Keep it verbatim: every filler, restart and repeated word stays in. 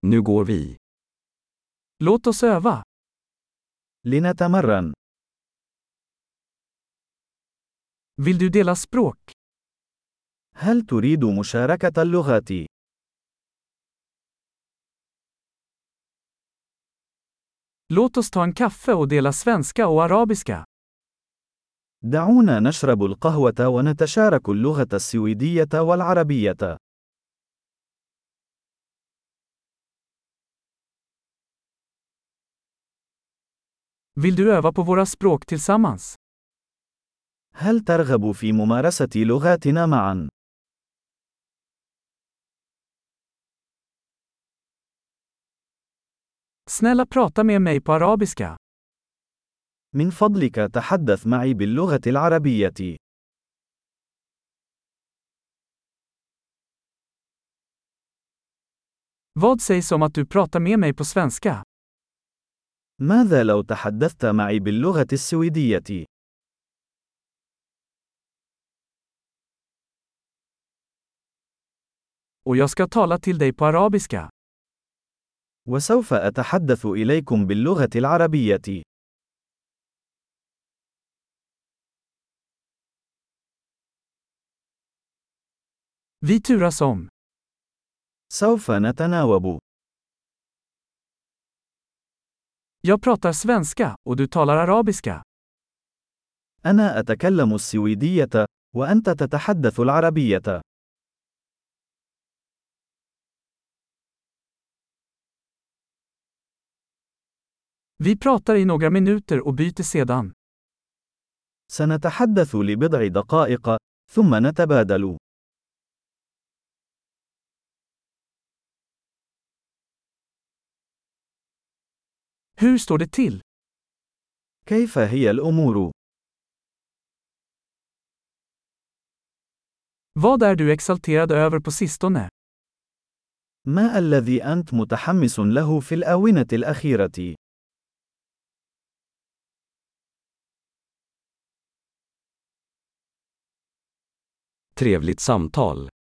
Nu går vi. Låt oss öva. لنتمرن. Vill du dela språk? هل تريد مشاركة اللغات؟ Låt oss ta en kaffe och dela svenska och arabiska. دعونا نشرب القهوة ونتشارك اللغة السويدية والعربية. Vill du öva på våra språk tillsammans? هل ترغب في ممارسة لغاتنا معا؟ Snälla prata med mig på arabiska. من فضلك تحدث معي باللغة العربية. Vad sägs om att du pratar med mig på svenska? ماذا لو تحدثت معي باللغة السويدية؟ Och jag ska tala till dig på arabiska. وسوف أتحدث إليكم باللغة العربية. Vi turas om. سوف نتناوب. Jag pratar svenska och du talar arabiska. أنا أتكلم السويدية، وأنت تتحدث العربية. Vi pratar i några minuter och byter sedan. سنتحدث لبضع دقائق، ثم نتبادل. Hur står det till? كيف هي الأمور؟ Vad är du exalterad över på sistone? ما الذي أنت متحمس له في الآونة الأخيرة؟ Trevligt samtal.